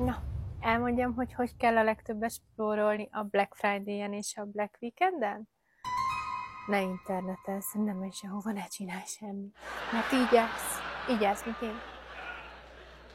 Na, elmondjam, hogy kell a legtöbbet spórolni a Black Friday-en és a Black Weekenden? Ne internetezz, nem menj sehova, ne csinálj semmit. Mert így állsz, mint én.